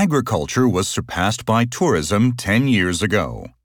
Agriculture was surpassed by tourism 10 years ago.